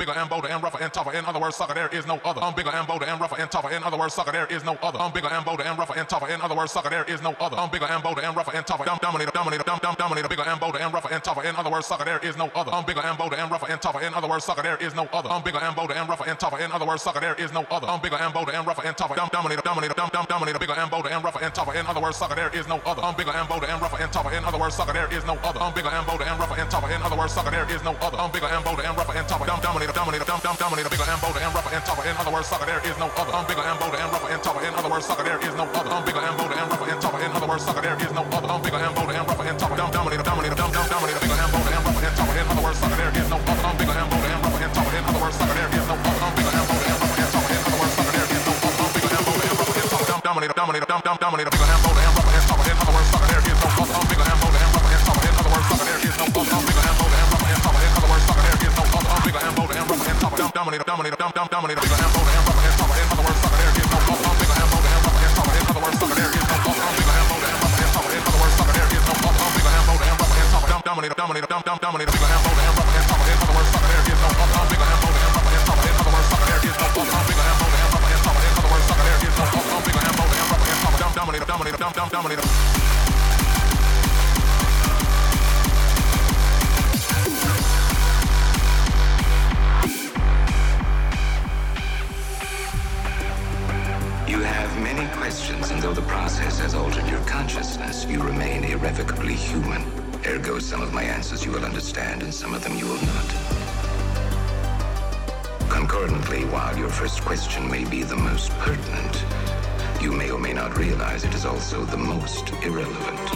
bigger and bolder and rougher and tougher. In other words, sucker, there is no other. I'm bigger and bolder and rougher and tougher. In other words, sucker, there is no other. I'm bigger and bolder and rougher and tougher. In other words, sucker, there is no other. I'm bigger and bolder and rougher and tougher. Dominator, bigger and bolder and rougher and tougher. In other words, sucker, there is no other. I'm bigger and bolder and rougher and tougher. In other words, sucker, there is no other. I'm bigger and bolder and rougher and tougher. In other words, sucker, there is no other. I'm bigger and bolder and rougher and tougher. Dominator, bigger and bolder and rougher and tougher. In other words, sucker, there is no other. I'm bigger and bolder and rougher and tougher. In other words, sucker, there is no other. I'm bigger and bolder and rougher and tougher. In other words, sucker, there is no other. I'm bigger and bolder and rougher and tougher. Dominator, bigger and bolder and rougher and tougher. In other words, sucker, there is no other. I'm bigger and bolder and rougher and tougher. In other words, sucker, there is no other. I'm bigger and bolder and rougher and tougher. In other words, sucker, there is no other. I'm bigger and bolder and rougher and tougher. Dominator, bigger and bolder and rougher and tougher. In other words, sucker, there is no other. I'm bigger and bolder and rougher and tougher. In other words, sucker, there is no other. I'm bigger and bolder and rougher and tougher. In other words, sucker, there is no other. I'm bigger and bolder and rougher and tougher. Dominator, bigger and bolder and rougher and tougher. In other words, sucker, there is no other. I'm bigger and bolder and rougher and tougher. In other words, sucker, there is no other. I'm bigger and bolder and rougher and tougher. In other words, sucker, there is no other. I'm bigger and bolder and rougher and tougher. Dominator, bigger and bolder and rougher and tougher. In other words, sucker, there is no other. I'm bigger and bolder and rougher and tougher. In other words, sucker, there is no other. I'm bigger and bolder and rougher and tougher. In other words, sucker, there is no other. I'm bigger and bolder and rougher and tougher. In other words, sucker, there is no other. I'm bigger and bolder and rougher and tougher. Dominator, bigger and bolder and rougher and tougher. In other words, sucker, there is no other. I'm bigger and bolder and rougher and tougher. In other words, sucker, there is no other. I'm bigger and bolder and rougher and tougher. In other words, sucker, there is no other. I'm bigger and bolder and rougher and tougher. In other words, sucker, there is no other. I'm bigger and bolder and rougher and tougher. Dominator. You have many questions, and though the process has altered your consciousness, you remain irrevocably human. Ergo, some of my answers you will understand, and some of them you will not. Concordantly, while your first question may be the most pertinent, you may or may not realize it is also the most irrelevant.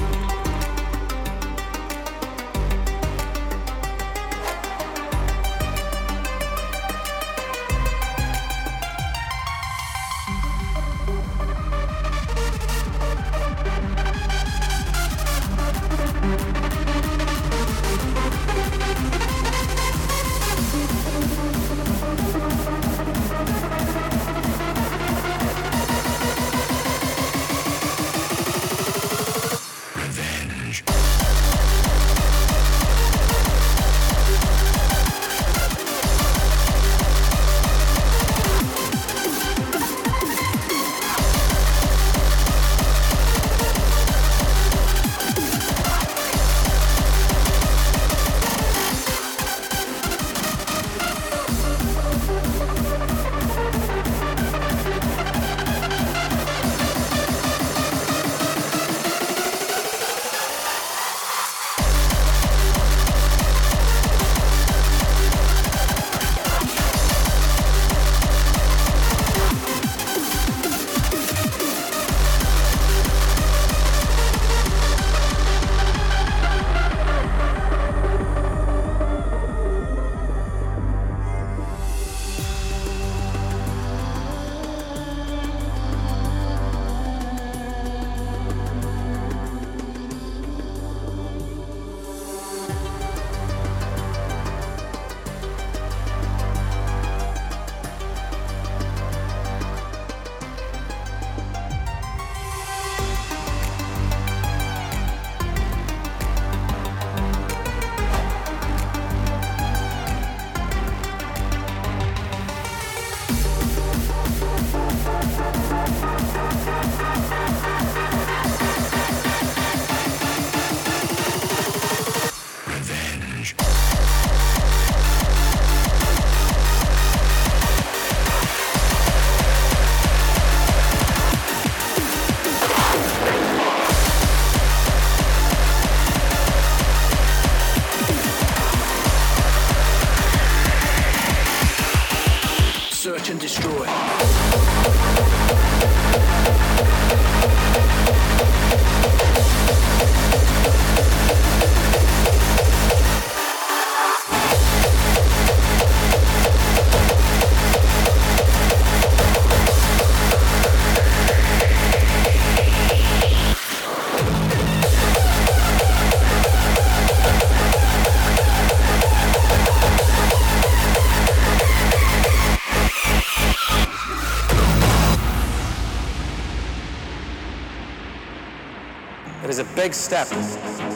It is a big step to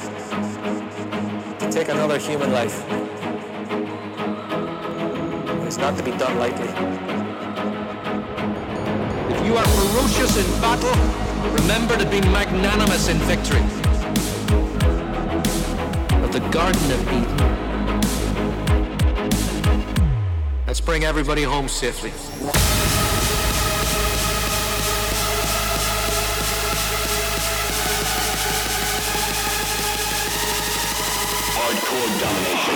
take another human life. It is not to be done lightly. If you are ferocious in battle, remember to be magnanimous in victory. But the Garden of Eden. Let's bring everybody home safely. Hardcore domination.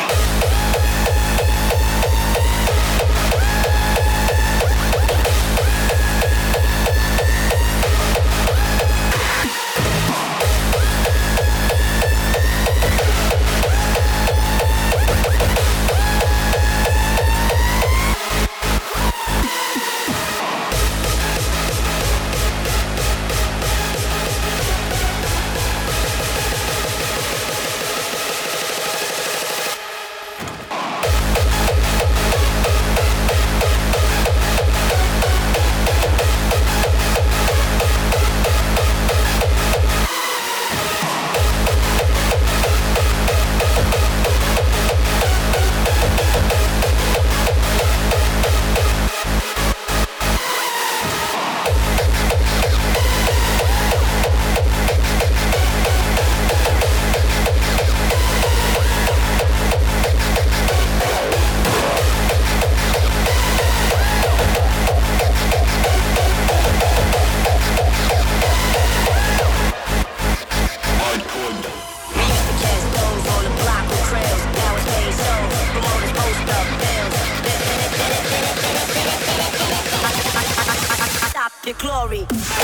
Your glory.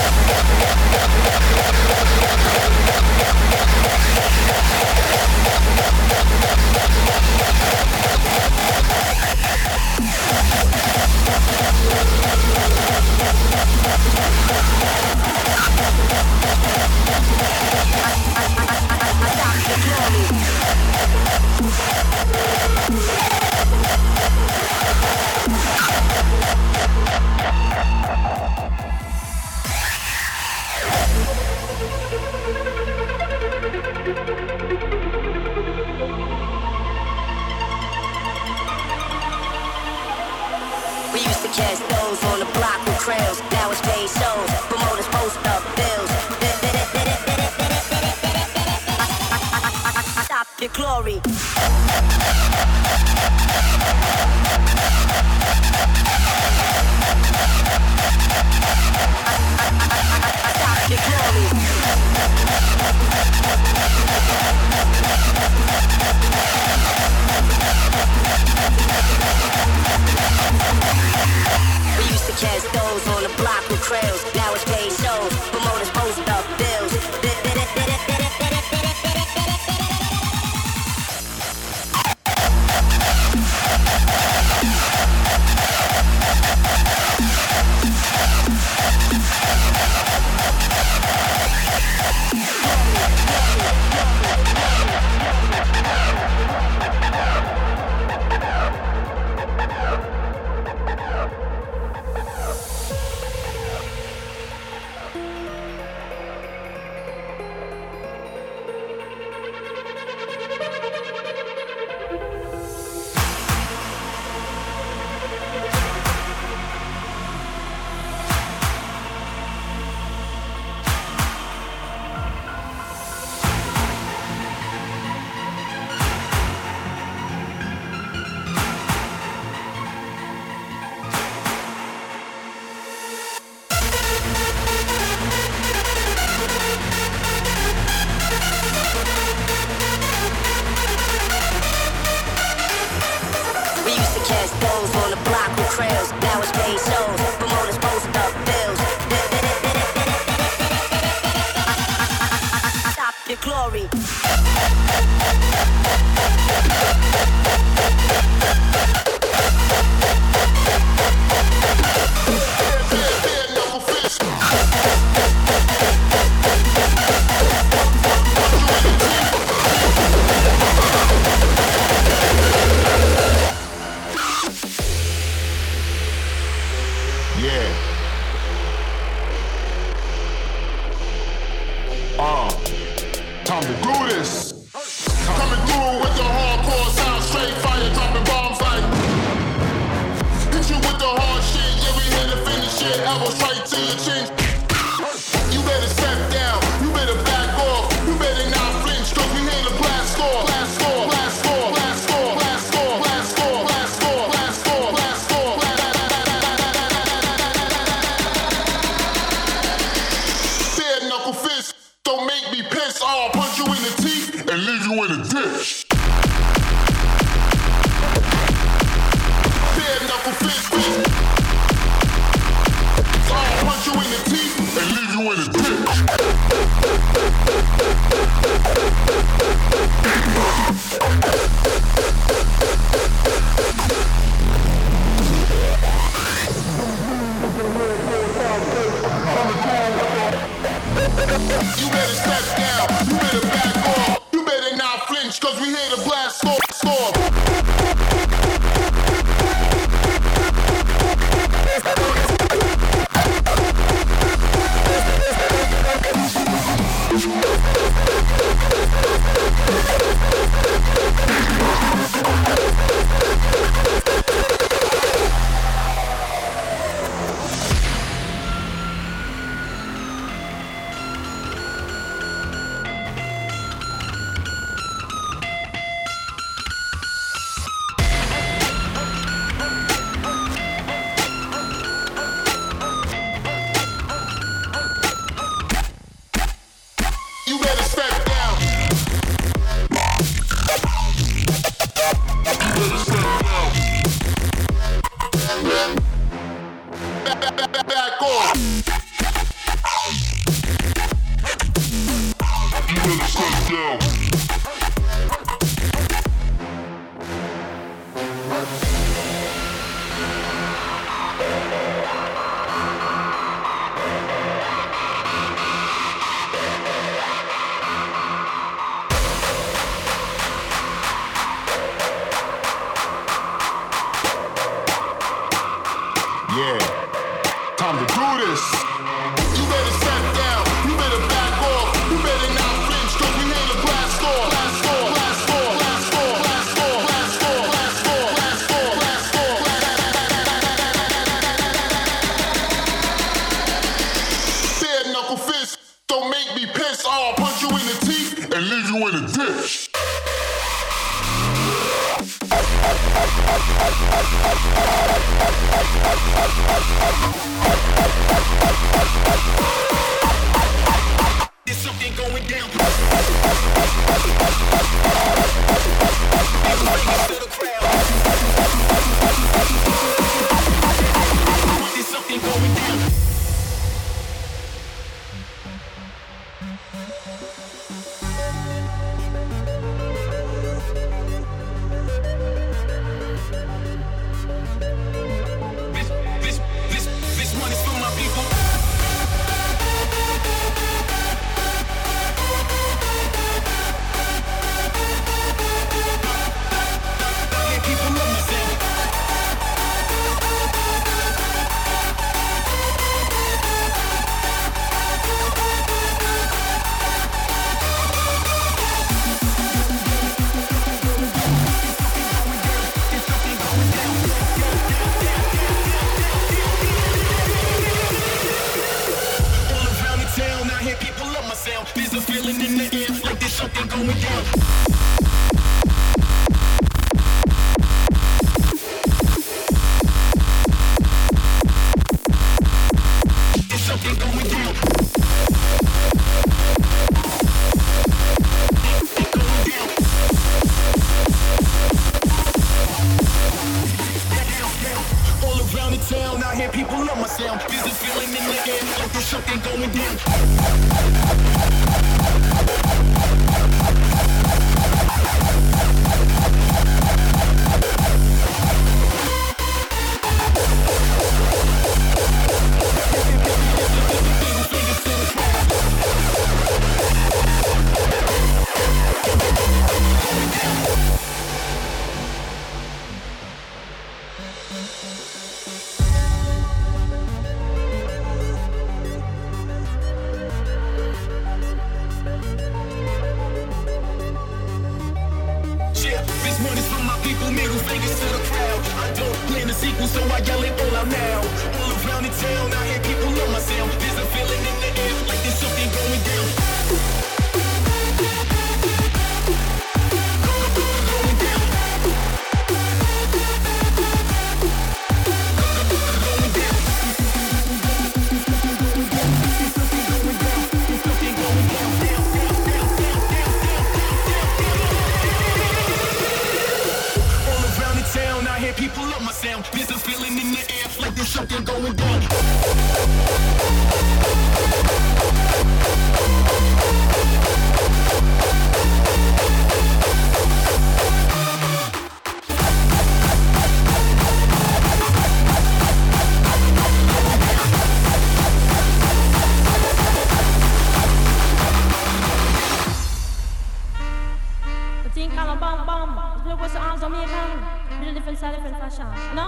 We used to catch those on the block with trails. Now it's paid shows. Promoters post up bills. Stop your glory. Stop your glory. We used to catch those on the block with trails. Now it's paid shows. Promoters post up bills. elbow straight to your chin. You better step down, you better back off, you better not flinch, cause we here to blast off, blast off, blast off, blast off, blast off, blast off, blast off, blast off, blast off. Bare knuckle fist, don't make me piss, I'll punch you in the teeth and leave you in a ditch. Bare knuckle fist, I'll punch you in the teeth and leave you in a ditch. You better step down, you better back off, you better not flinch, cause we here to blast off, off. You better step down. You better step down. Back off. You better step down. Yeah, time to do this. You better step down, you better back off, you better not flinch, cause we here to blast off, blast off, blast off, blast off, blast off, blast off, blast off, blast off, blast off. Bare knuckle fist, don't make me piss, I'll punch you in the teeth and leave you in a ditch. There's something going down. There's something going down. This one is for my people. Yeah, people love my sound. All around the town, I hear people love my sound. There's a feeling in the air, like there's something going down. There's something going down. All around the town, I hear people love my sound. There's a feeling in the air, like there's something going down. Middle fingers to the crowd. I don't plan a sequel, so I yell it all out now. All around the town, I hear There's a feeling in the air, like there's something going down. Different style, different fashion. No?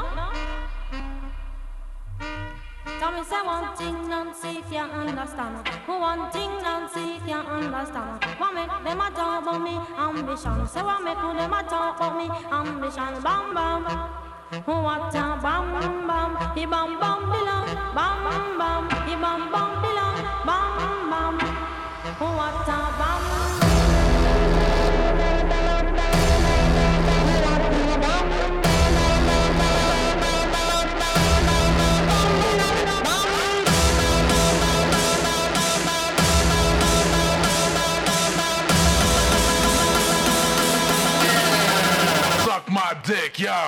Tell me, say one thing, Nancy, if you understand. One thing, Nancy, if you understand. What make them a talk about me ambition? Say what make them a talk about me ambition? Bam bam. What a bam bam. He bam bam below. Bam bam. He bam bam below. Bam bam. What a bam. My dick, yo.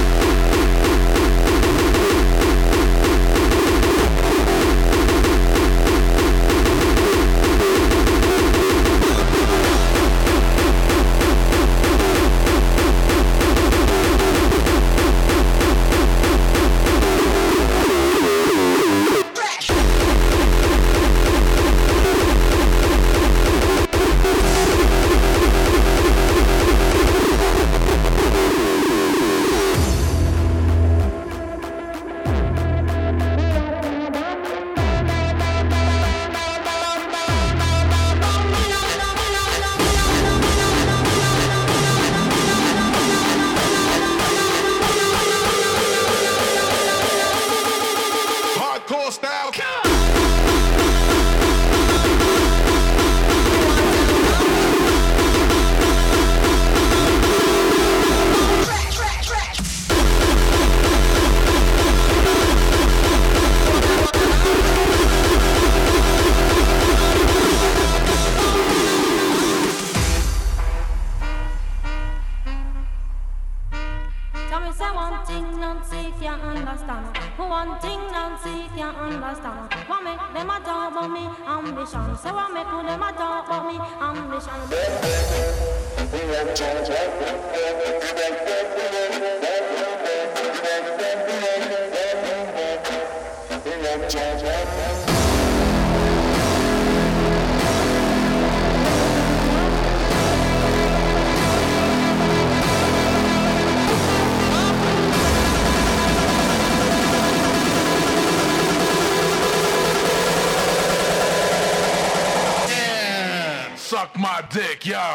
Suck my dick, yo.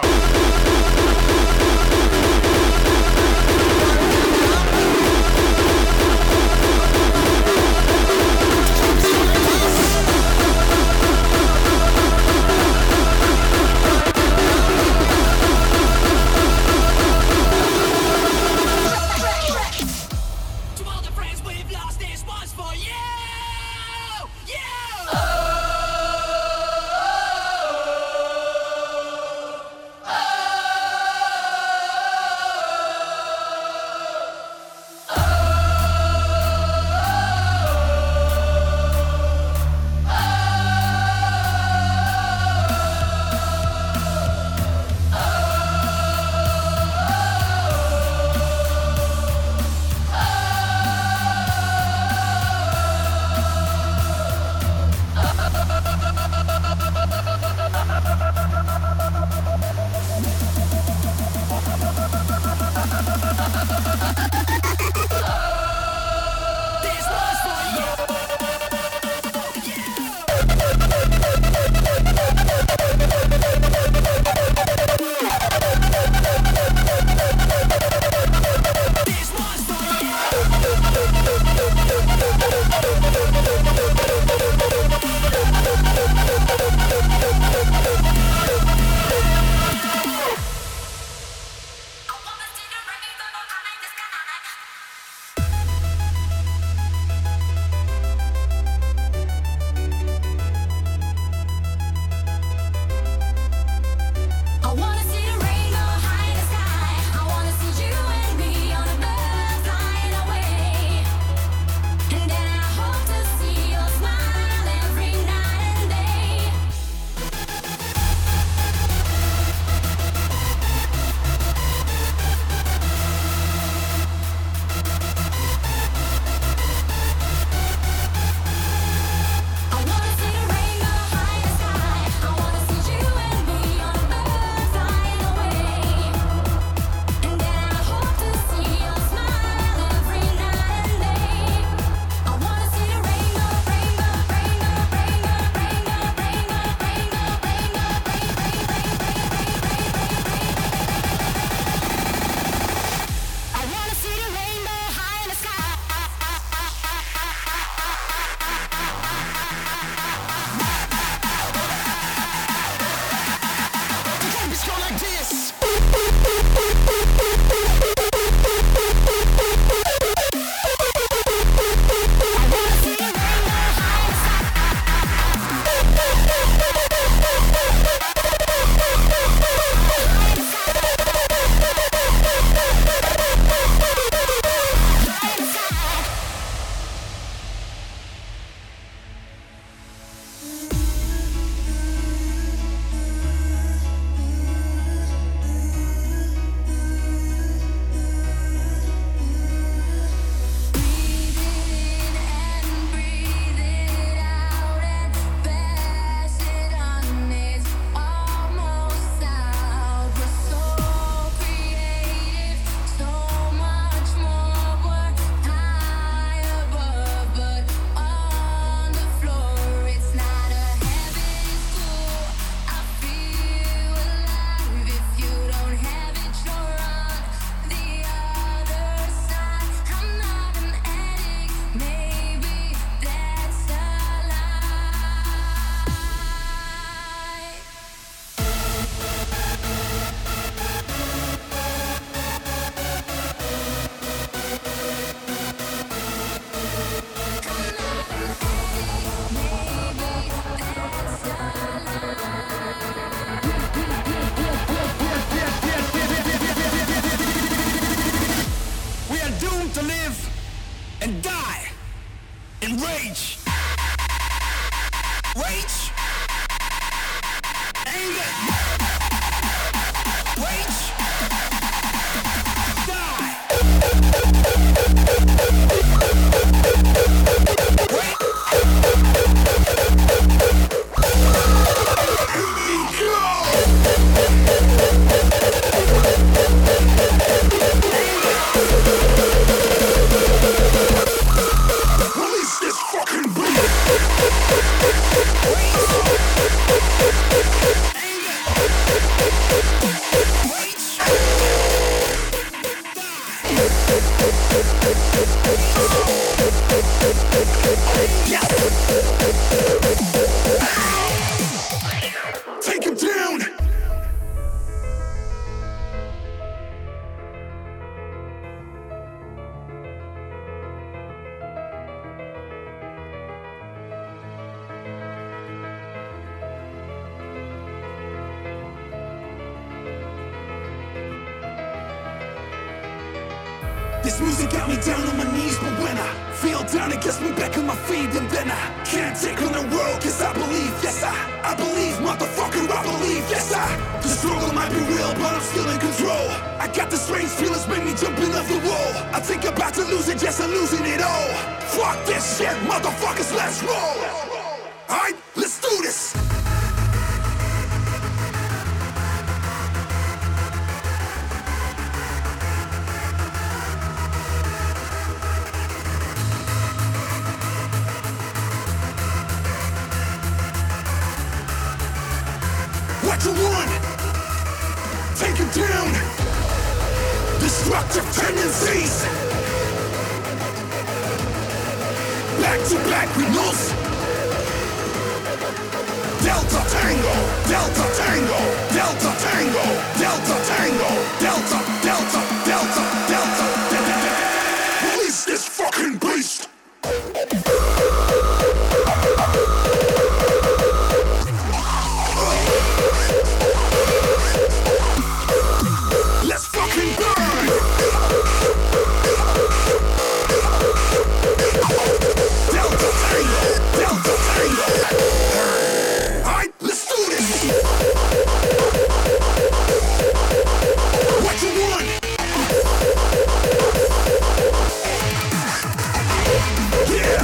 and rage. Rage. Anger. Rage. Die. Rage. Release this fucking beat. Take him down. This music got me down on my knees, but when I feel down, it gets me back on my feet, and then I can't take on the world, cause I believe, yes, I believe, motherfucker, I believe, yes, the struggle might be real, but I'm still in control. I got the strange feelings, make me jumping off the wall. I think about to lose it, yes, I'm losing it all. Fuck this shit, motherfuckers, let's roll. Alright, let's do this. What you want? Take him down. Destructive tendencies. Back to back with nos. Delta Tango, Delta Tango, Delta Tango, Delta Tango, Delta, Delta, Delta, Delta, Delta. Release this fucking beast. Let's fucking burn! Delta Tango! Delta Tango! Alright, let's do this! What you want? Yeah!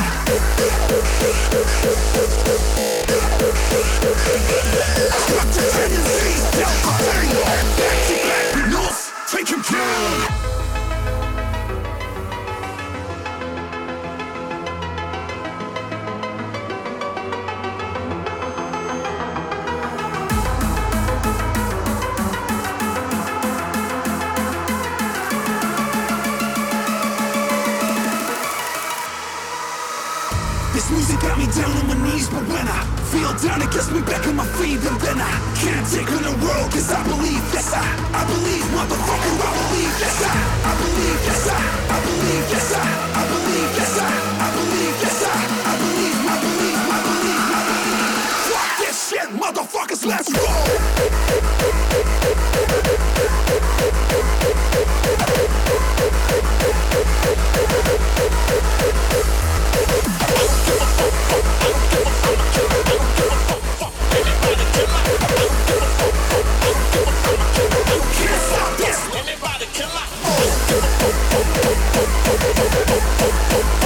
Structure tendencies! Delta Tango! Back to back with North! Take him down! This music got me down on my knees, but when I feel down, it gets me back on my feet, and then I can't take on the world, cause I believe, yes, I believe, motherfucker, I believe, yes, I believe, yes, I believe, yes, I believe, yes, I believe, yes, I believe, I believe, I believe, I believe. Fuck this shit, motherfuckers, let's roll! Anybody can lie.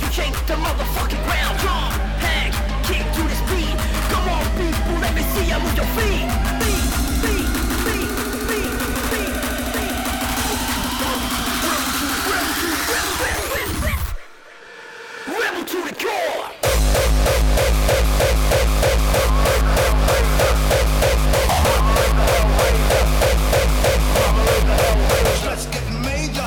shake the motherfucking ground. Drum, hang, kick to this beat. Come on, people, let me see you move your feet. Rebel to the core. Let's get major.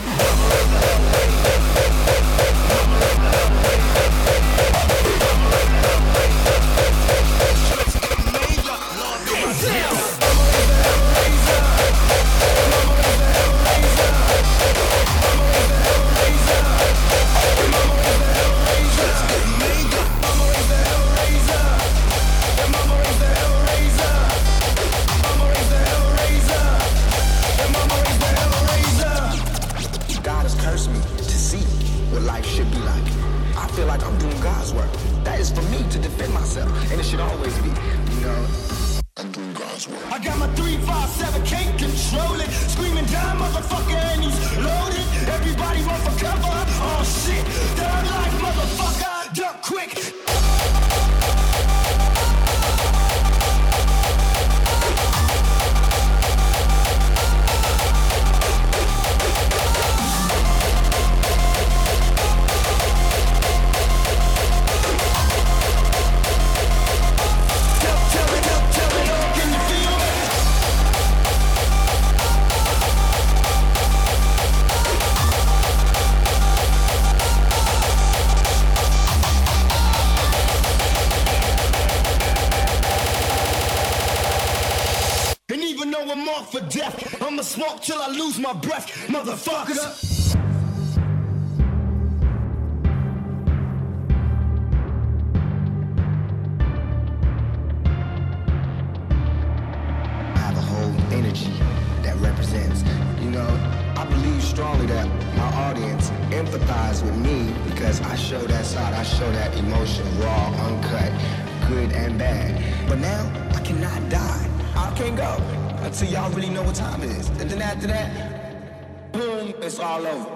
God has cursed me to see what life should be like. I feel like I'm doing God's work. That is for me to defend myself, and it should always be. You know, I'm doing God's work. I got my 357, can't control it. Screaming down, motherfucker, and he's loaded. Everybody run for cover. Oh shit, third life, motherfucker, duck quick. And even though I'm marked for death, I'ma smoke till I lose my breath, motherfucker. I have a whole energy that represents, you know, I believe strongly that my audience empathize with me because I show that side, I show that emotion, raw, uncut, good and bad. But now, I cannot die. I can't go until y'all really know what time it is. And then after that, boom, it's all over.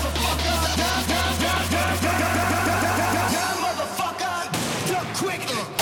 Quick!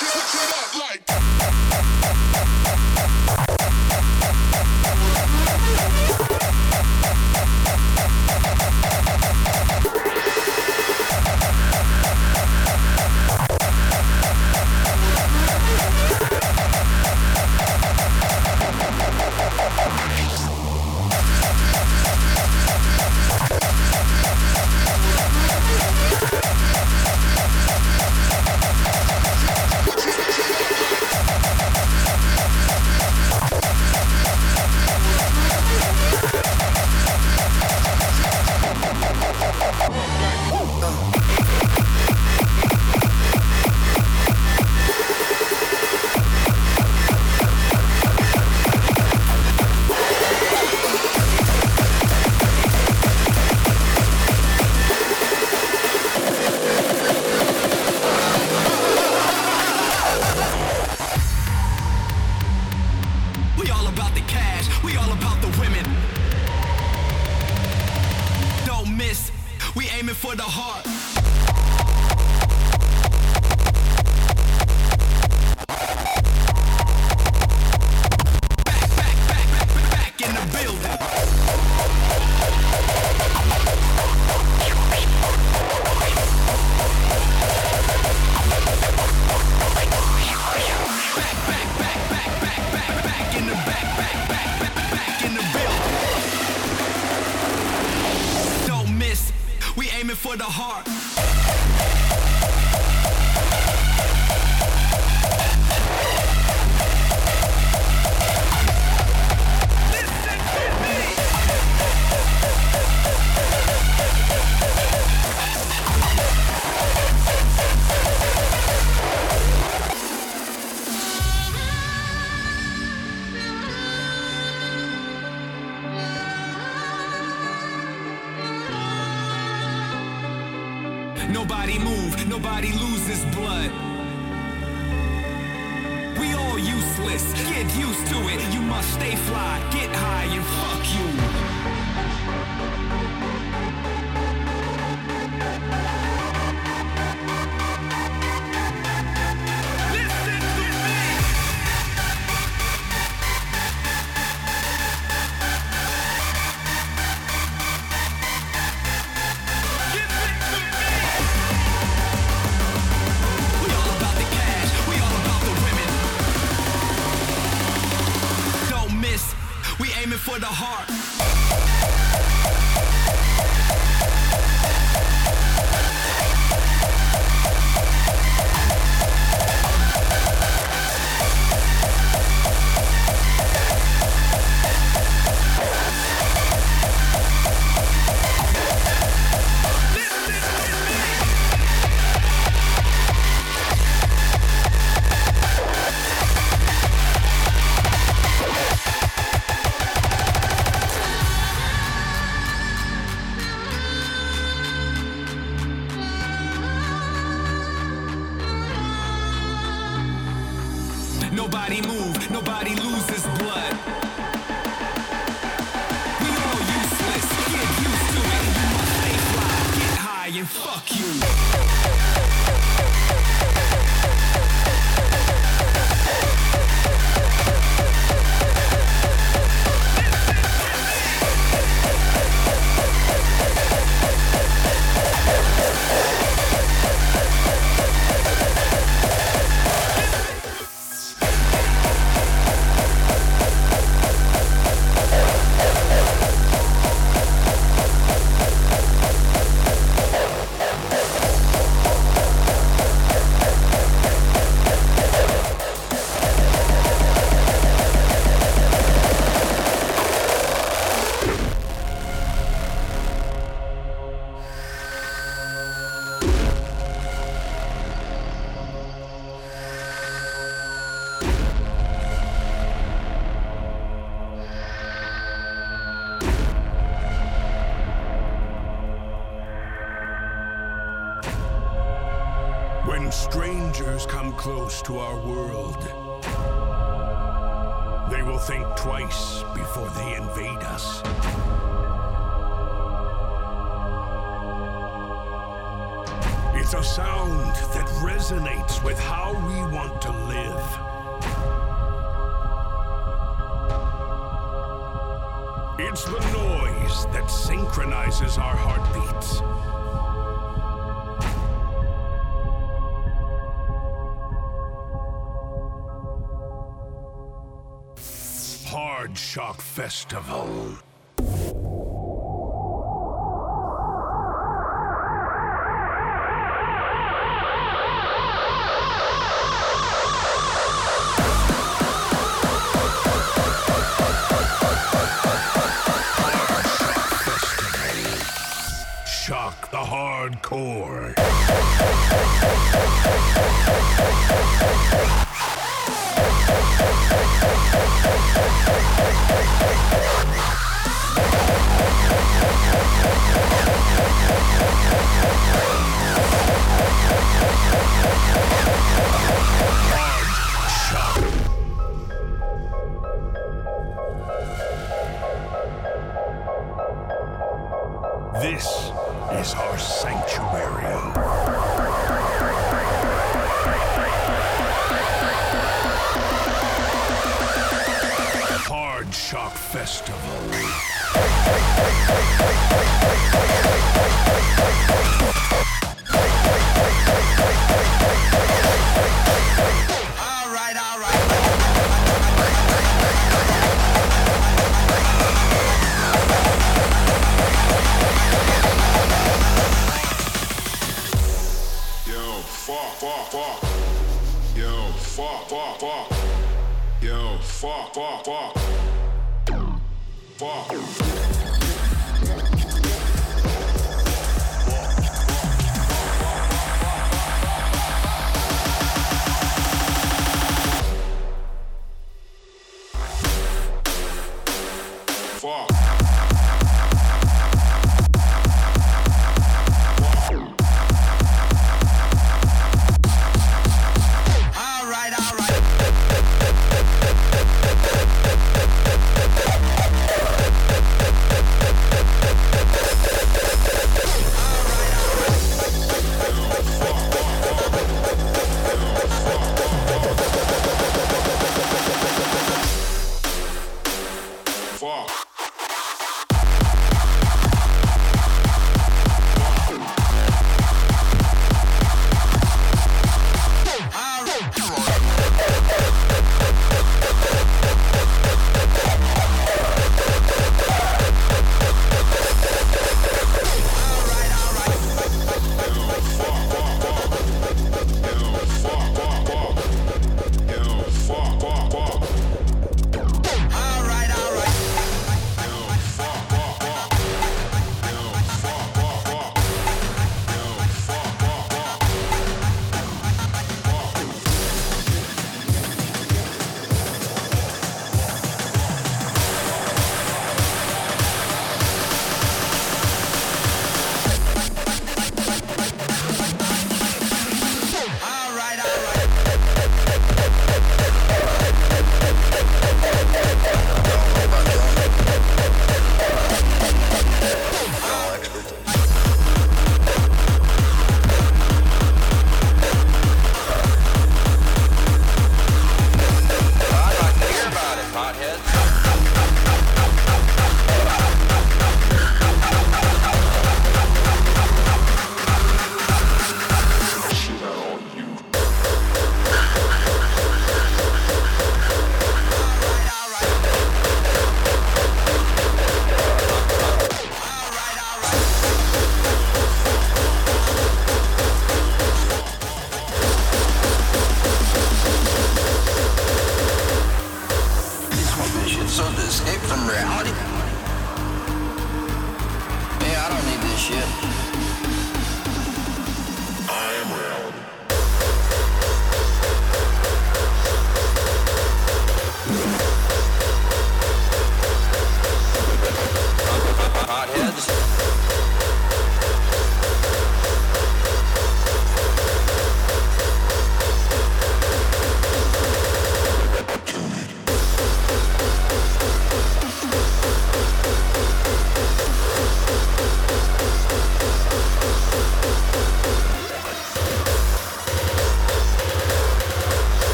Nobody move, nobody loses blood. We all useless, get used to it. You must stay fly, get high and fuck you. For the heart. Nobody move, nobody loses blood. We all useless, get used to it. You must stay fly, get high and fuck you. When strangers come close to our world, they will think twice before they invade us. It's is a sound that resonates with how we want to live. It's the noise that synchronizes our heartbeats. Hard Shock Festival. Shock the hardcore. This is our sanctuary. Hard Shock Festival.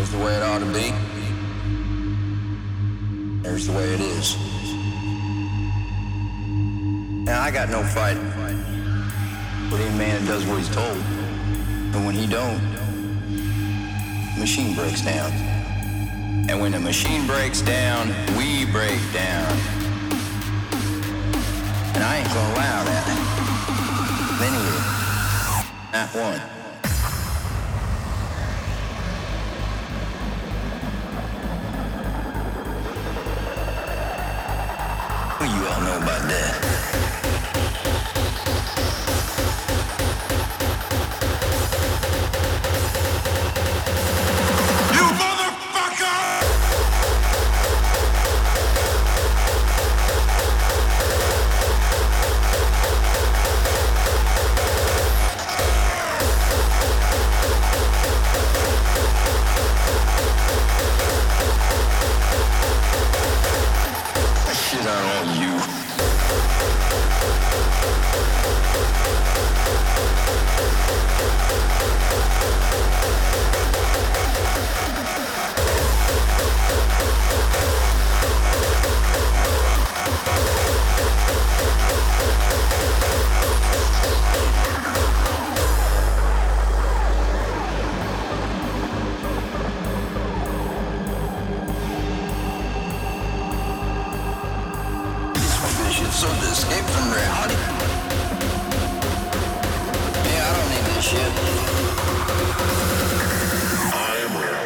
Here's the way it ought to be. Here's the way it is. Now, I got no fight with any man that does what he's told. But when he don't, the machine breaks down. And when the machine breaks down, we break down. And I ain't gonna allow that. Anyway, not one. Well, you all know about that. So to escape from reality? Yeah, I don't need this shit. I am real.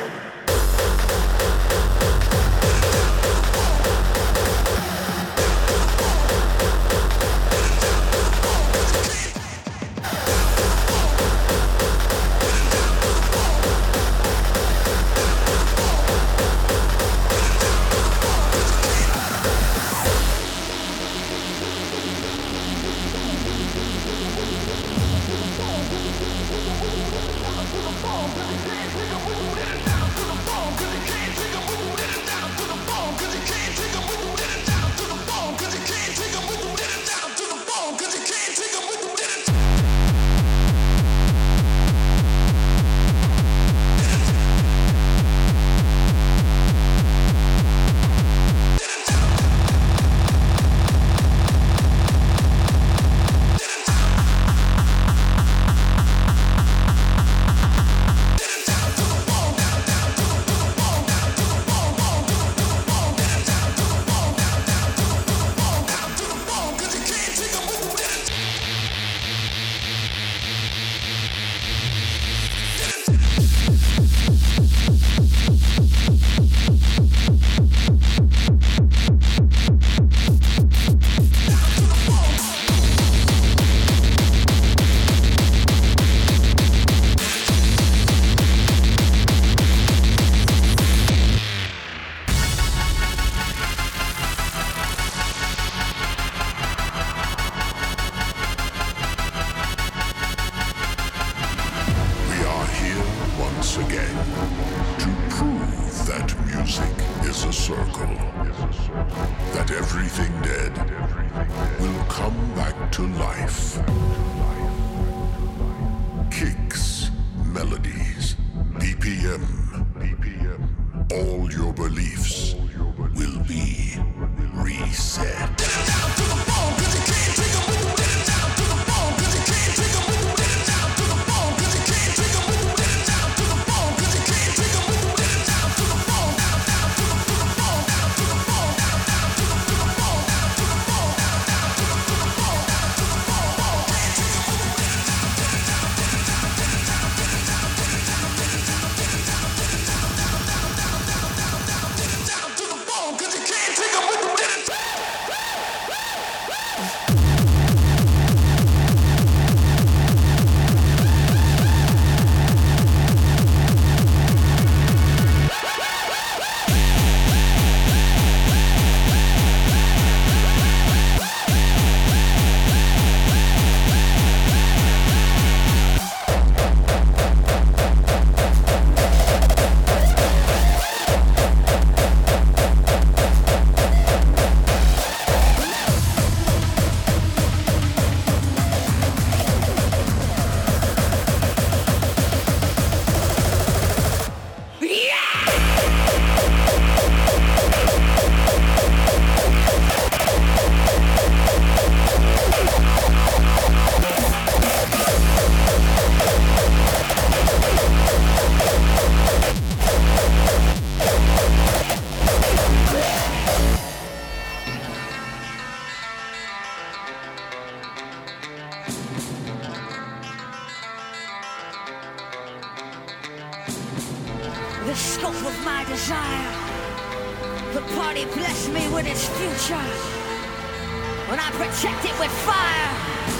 the scope of my desire. The party blessed me with its future when I protect it with fire.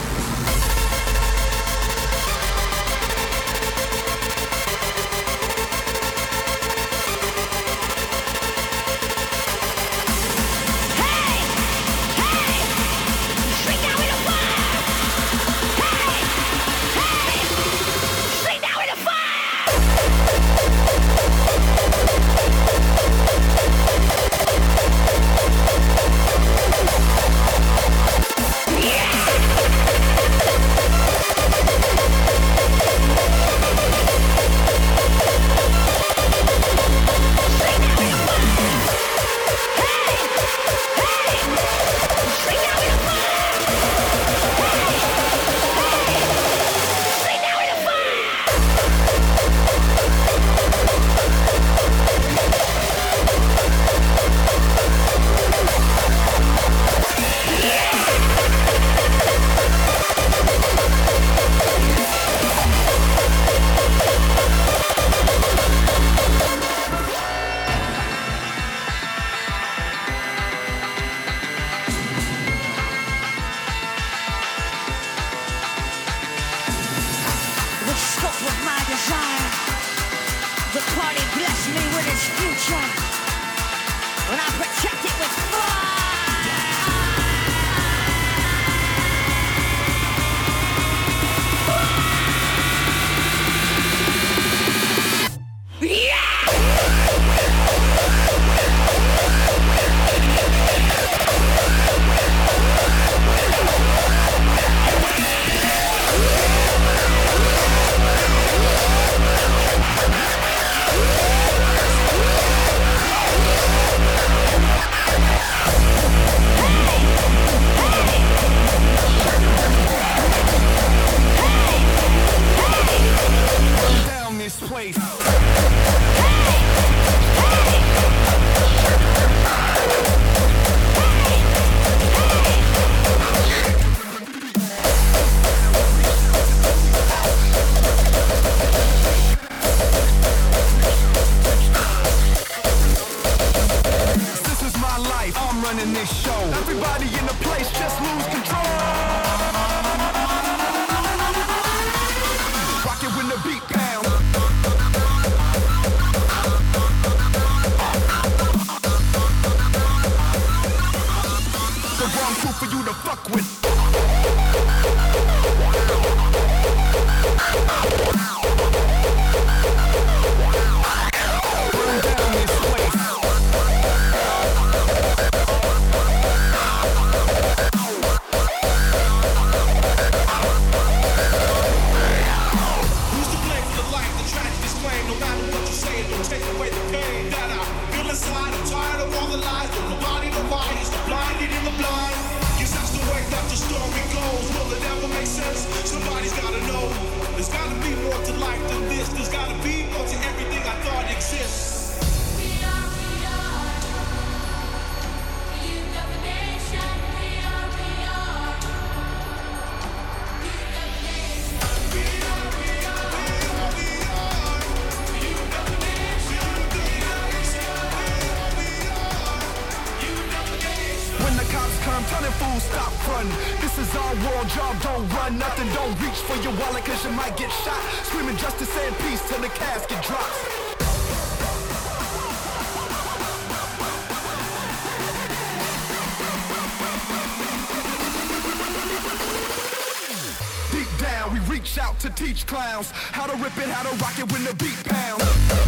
To teach clowns how to rip it, how to rock it when the beat pounds.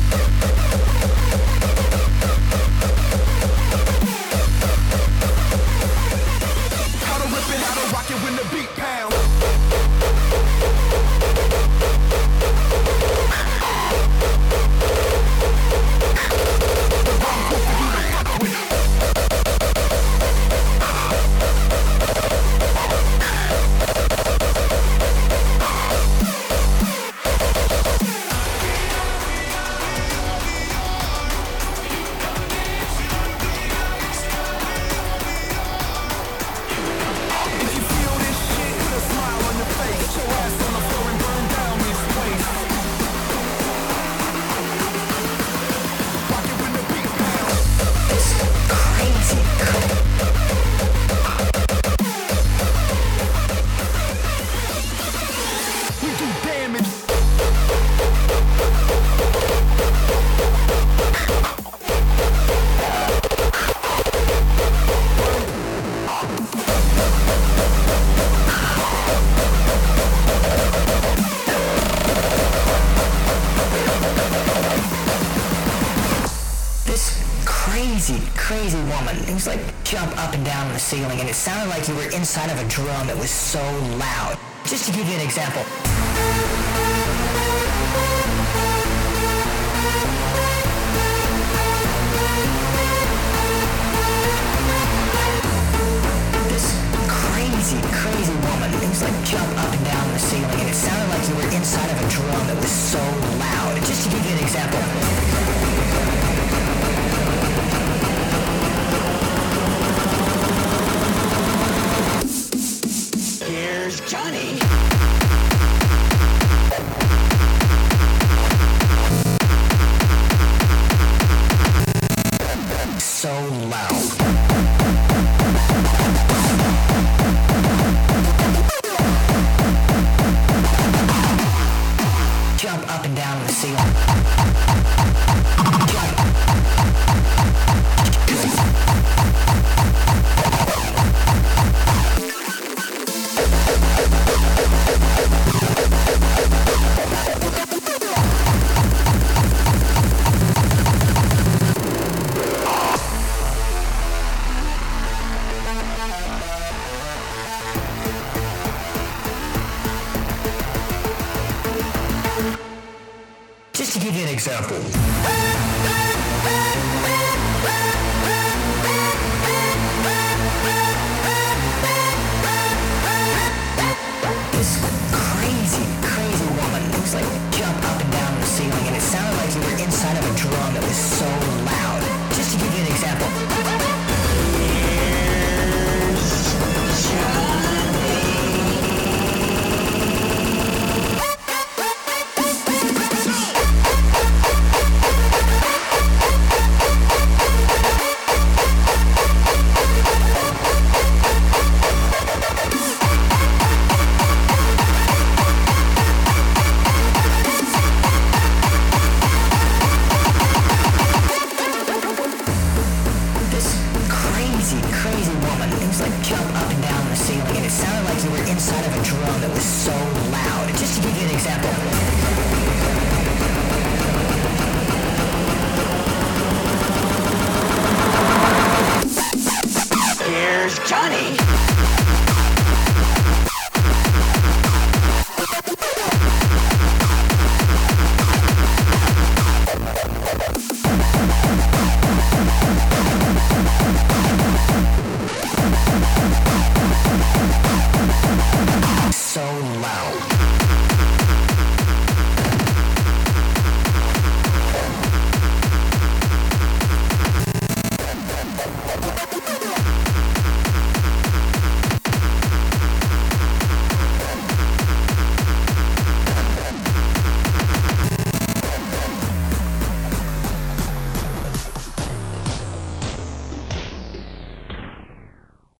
How to rip it, how to rock it when the beat pounds. The wrong group for you to fuck with. we do damage. Crazy woman. It was like jump up and down on the ceiling, and it sounded like you were inside of a drum. It was so loud. Just to give you an example. This crazy woman. It was like jump up and down on the ceiling, and it sounded like you were inside of a drum. It was so loud. Just to give you an example. Johnny. So loud. Jump up and down on the ceiling. Just to give you an example. This crazy woman. It was like jump up and down on the ceiling, and it sounded like you were inside of a drum. It was so